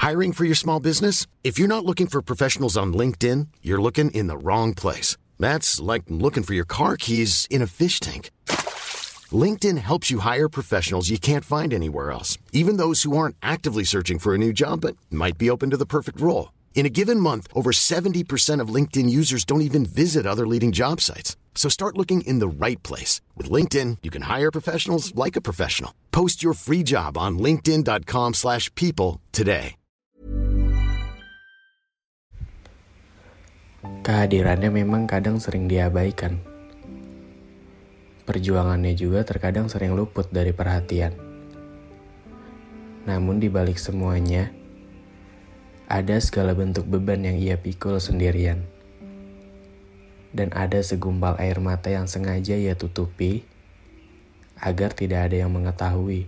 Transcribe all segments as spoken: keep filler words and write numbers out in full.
Hiring for your small business? If you're not looking for professionals on LinkedIn, you're looking in the wrong place. That's like looking for your car keys in a fish tank. LinkedIn helps you hire professionals you can't find anywhere else, even those who aren't actively searching for a new job but might be open to the perfect role. In a given month, over seventy percent of LinkedIn users don't even visit other leading job sites. So start looking in the right place. With LinkedIn, you can hire professionals like a professional. Post your free job on linkedin.com slash people today. Kehadirannya memang kadang sering diabaikan. Perjuangannya juga terkadang sering luput dari perhatian. Namun di balik semuanya, ada segala bentuk beban yang ia pikul sendirian. Dan ada segumpal air mata yang sengaja ia tutupi agar tidak ada yang mengetahui.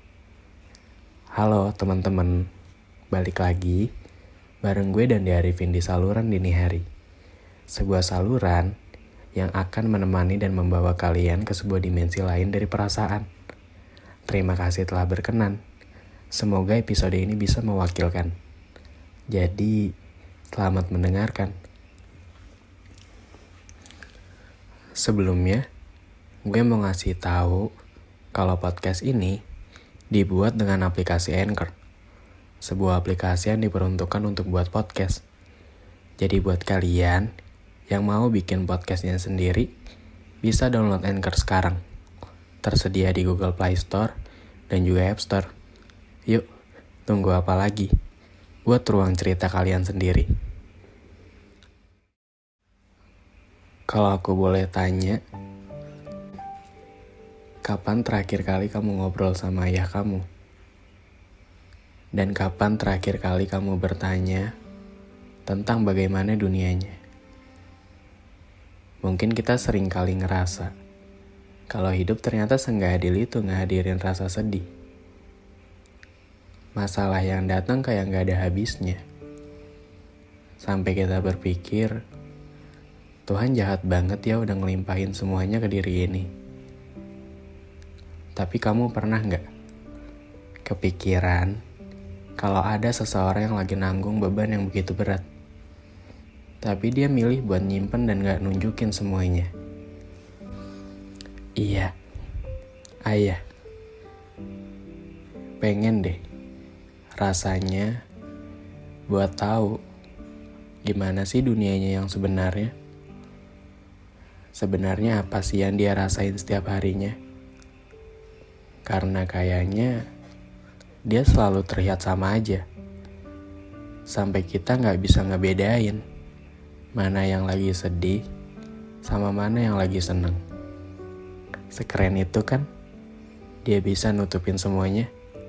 Halo teman-teman, balik lagi bareng gue dan Arifin di saluran dini hari. Sebuah saluran yang akan menemani dan membawa kalian ke sebuah dimensi lain dari perasaan. Terima kasih telah berkenan. Semoga episode ini bisa mewakilkan. Jadi, selamat mendengarkan. Sebelumnya, gue mau ngasih tahu kalau podcast ini dibuat dengan aplikasi Anchor. Sebuah aplikasi yang diperuntukkan untuk buat podcast. Jadi buat kalian yang mau bikin podcastnya sendiri, bisa download Anchor sekarang. Tersedia di Google Play Store dan juga App Store. Yuk, tunggu apa lagi? Buat ruang cerita kalian sendiri. Kalau aku boleh tanya, kapan terakhir kali kamu ngobrol sama ayah kamu? Dan kapan terakhir kali kamu bertanya tentang bagaimana dunianya? Mungkin kita sering kali ngerasa kalau hidup ternyata seenggak adil itu ngehadirin rasa sedih. Masalah yang datang kayak gak ada habisnya. Sampai kita berpikir, Tuhan jahat banget ya udah ngelimpahin semuanya ke diri ini. Tapi kamu pernah gak kepikiran kalau ada seseorang yang lagi nanggung beban yang begitu berat, tapi dia milih buat nyimpen dan gak nunjukin semuanya? Iya, ayah. Pengen deh rasanya buat tahu gimana sih dunianya yang sebenarnya. Sebenarnya apa sih yang dia rasain setiap harinya? Karena kayaknya dia selalu terlihat sama aja. Sampai kita gak bisa ngebedain mana yang lagi sedih sama mana yang lagi seneng. Sekeren itu kan, dia bisa nutupin semuanya.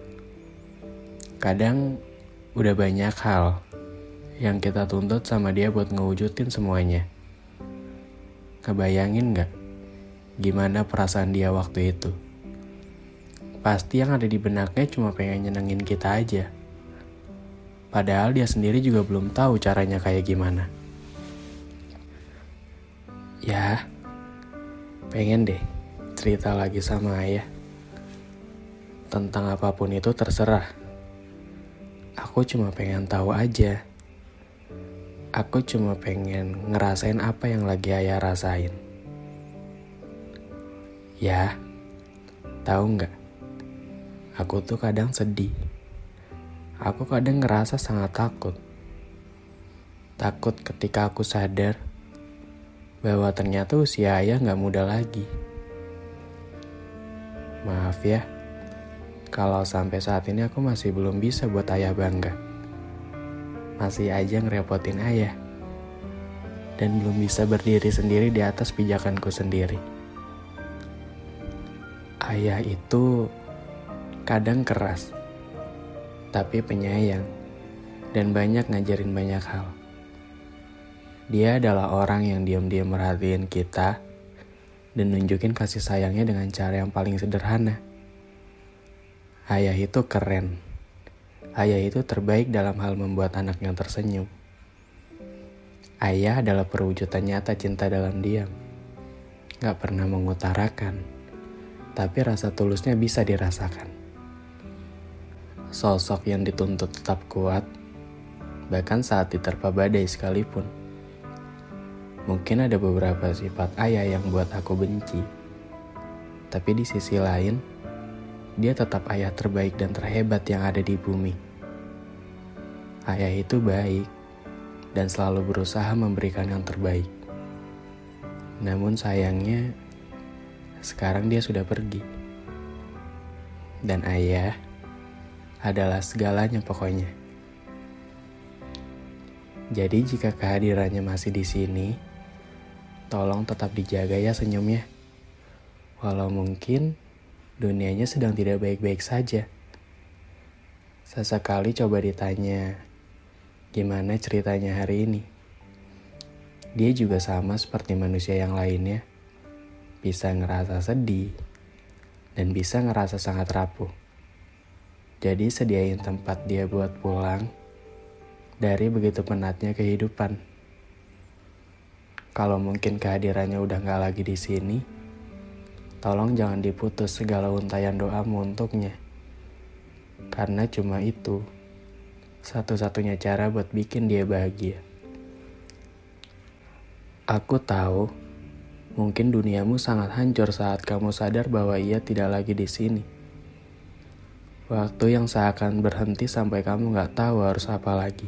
Kadang udah banyak hal yang kita tuntut sama dia buat ngewujudin semuanya. Kebayangin gak gimana perasaan dia waktu itu? Pasti yang ada di benaknya cuma pengen nyenengin kita aja. Padahal dia sendiri juga belum tahu caranya kayak gimana. Ya, pengen deh cerita lagi sama ayah. Tentang apapun itu terserah. Aku cuma pengen tahu aja. Aku cuma pengen ngerasain apa yang lagi ayah rasain. Ya, tahu nggak? Aku tuh kadang sedih. Aku kadang ngerasa sangat takut. Takut ketika aku sadar bahwa ternyata usia ayah nggak muda lagi. Maaf ya, kalau sampai saat ini aku masih belum bisa buat ayah bangga. Masih aja ngerepotin ayah. Dan belum bisa berdiri sendiri di atas pijakanku sendiri. Ayah itu kadang keras, tapi penyayang, dan banyak ngajarin banyak hal. Dia adalah orang yang diam-diam merhatiin kita, dan nunjukin kasih sayangnya dengan cara yang paling sederhana. Ayah itu keren. Ayah itu terbaik dalam hal membuat anaknya tersenyum. Ayah adalah perwujudan nyata cinta dalam diam. Gak pernah mengutarakan, tapi rasa tulusnya bisa dirasakan. sosok yang dituntut tetap kuat, bahkan saat diterpa badai sekalipun. Mungkin ada beberapa sifat ayah yang buat aku benci, tapi di sisi lain, dia tetap ayah terbaik dan terhebat yang ada di bumi. Ayah itu baik dan selalu berusaha memberikan yang terbaik. Namun sayangnya, sekarang dia sudah pergi. Dan ayah adalah segalanya pokoknya. Jadi jika kehadirannya masih di sini, tolong tetap dijaga ya senyumnya. Walau mungkin dunianya sedang tidak baik-baik saja. Sesekali coba ditanya, gimana ceritanya hari ini? Dia juga sama seperti manusia yang lainnya, bisa ngerasa sedih, dan bisa ngerasa sangat rapuh. Jadi sediain tempat dia buat pulang dari begitu penatnya kehidupan. Kalau mungkin kehadirannya udah gak lagi di sini, tolong jangan diputus segala untayan doamu untuknya. Karena cuma itu satu-satunya cara buat bikin dia bahagia. Aku tahu, mungkin duniamu sangat hancur saat kamu sadar bahwa ia tidak lagi di sini. Waktu yang seakan berhenti sampai kamu gak tahu harus apa lagi.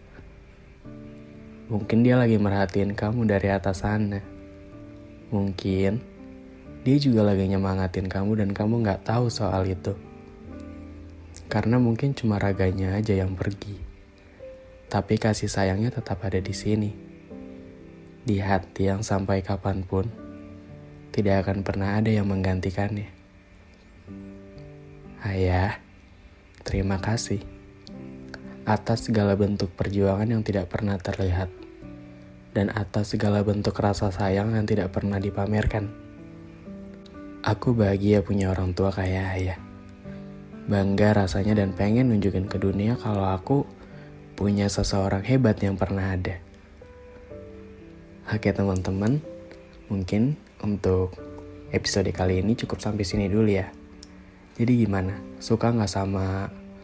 Mungkin dia lagi merhatiin kamu dari atas sana. Mungkin dia juga lagi nyemangatin kamu dan kamu gak tahu soal itu. Karena mungkin cuma raganya aja yang pergi. Tapi kasih sayangnya tetap ada di sini. Di hati yang sampai kapanpun tidak akan pernah ada yang menggantikannya. Ayah, terima kasih atas segala bentuk perjuangan yang tidak pernah terlihat dan atas segala bentuk rasa sayang yang tidak pernah dipamerkan. Aku bahagia punya orang tua kayak ayah. Bangga rasanya dan pengen nunjukin ke dunia kalau aku punya seseorang hebat yang pernah ada. Oke teman-teman, mungkin untuk episode kali ini cukup sampai sini dulu ya. Jadi gimana? Suka gak sama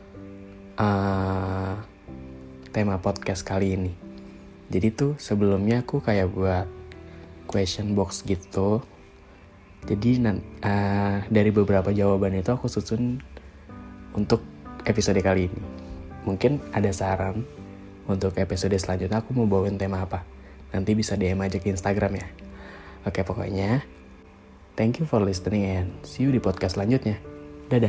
uh, tema podcast kali ini? Jadi tuh sebelumnya aku kayak buat question box gitu. Jadi uh, dari beberapa jawaban itu aku susun untuk episode kali ini. Mungkin ada saran untuk episode selanjutnya aku mau bawain tema apa. Nanti bisa D M aja ke Instagram ya. Oke pokoknya, thank you for listening and see you di podcast selanjutnya. Dadah.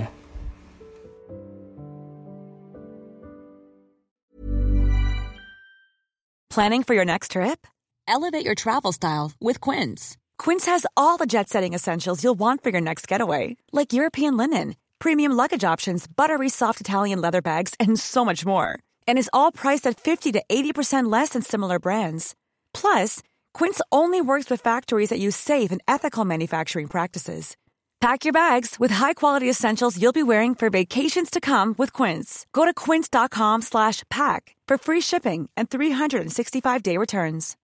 Planning for your next trip? Elevate your travel style with Quince. Quince has all the jet-setting essentials you'll want for your next getaway, like European linen, premium luggage options, buttery soft Italian leather bags, and so much more. And is all priced at fifty to eighty percent less than similar brands. Plus, Quince only works with factories that use safe and ethical manufacturing practices. Pack your bags with high-quality essentials you'll be wearing for vacations to come with Quince. Go to quince.com slash pack for free shipping and three sixty-five day returns.